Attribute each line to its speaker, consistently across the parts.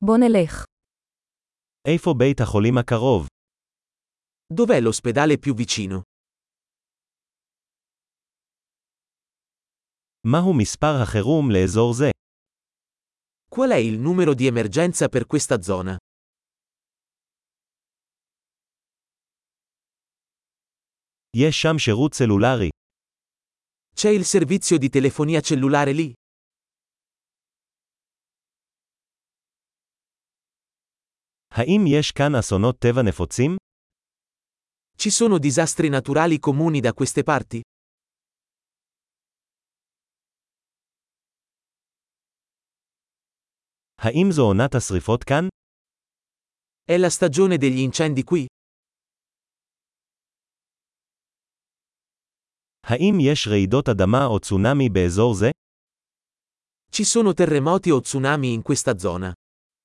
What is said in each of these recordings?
Speaker 1: בוא נלך.
Speaker 2: איפה בית החולים הקרוב?
Speaker 3: Dov'è l'ospedale più vicino?
Speaker 2: מהו מספר החירום לאזור זה?
Speaker 3: Qual è il numero di emergenza per questa zona?
Speaker 2: יש שם שירות סלולרי.
Speaker 3: C'è il servizio di telefonia cellulare lì?
Speaker 2: האם יש כאן אסונות טבע נפוצים?
Speaker 3: Ci sono disastri naturali comuni da queste parti?
Speaker 2: האם זו עונת השריפות כאן?
Speaker 3: È la stagione degli incendi qui?
Speaker 2: האם יש רעידות אדמה או צונאמי באזור זה?
Speaker 3: Ci sono terremoti o tsunami in questa zona?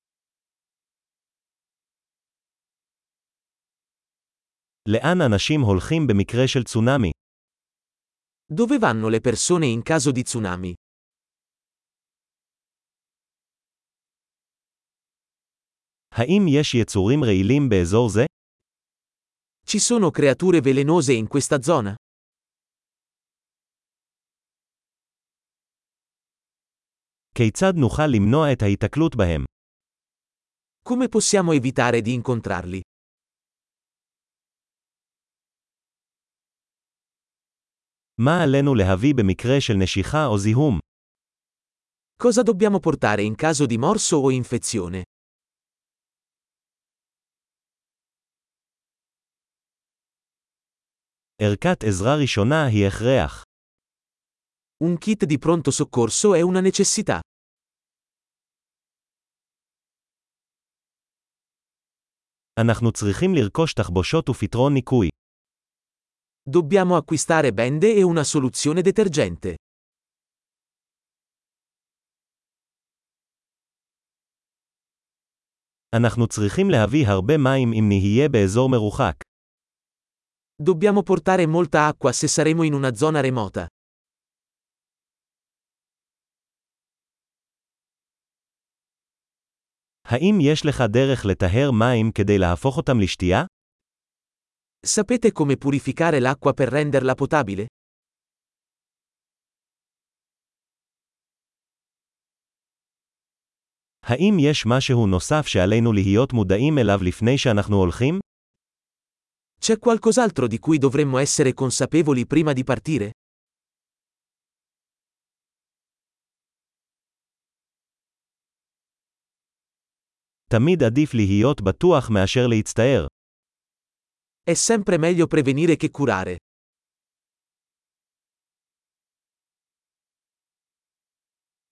Speaker 2: לאן אנשים הולכים במקרה של צונאמי?
Speaker 3: Dove vanno le persone in caso di tsunami?
Speaker 2: האם יש יצורים רעילים באזור זה?
Speaker 3: Ci sono creature velenose in questa zona?
Speaker 2: כיצד נוכל למנוע את ההיתקלות בהם?
Speaker 3: Come possiamo evitare di incontrarli?
Speaker 2: מה עלינו להביא במקרה של נשיכה או זיהום?
Speaker 3: Cosa dobbiamo portare in caso di morso o infezione?
Speaker 2: ערכת עזרה ראשונה היא הכרח.
Speaker 3: Un kit di pronto soccorso è una necessità.
Speaker 2: אנחנו צריכים לרכוש תחבושות ופתרון ניקוי.
Speaker 3: Dobbiamo acquistare bende e una soluzione detergente.
Speaker 2: אנחנו צריכים להביא הרבה מים אם נהיה באזור מרוחק.
Speaker 3: Dobbiamo portare molta acqua se saremo in una zona remota.
Speaker 2: האם יש לך דרך לטהר מים כדי להפוך אותם לשתייה?
Speaker 3: Sapete come purificare l'acqua per renderla potabile?
Speaker 2: האם יש משהו נוסף שעלינו להיות מודעים אליו לפני שאנחנו הולכים?
Speaker 3: C'è qualcos'altro di cui dovremmo essere consapevoli prima di partire?
Speaker 2: תמיד עדיף להיות בטוח מאשר להצטער.
Speaker 3: È sempre meglio prevenire che curare.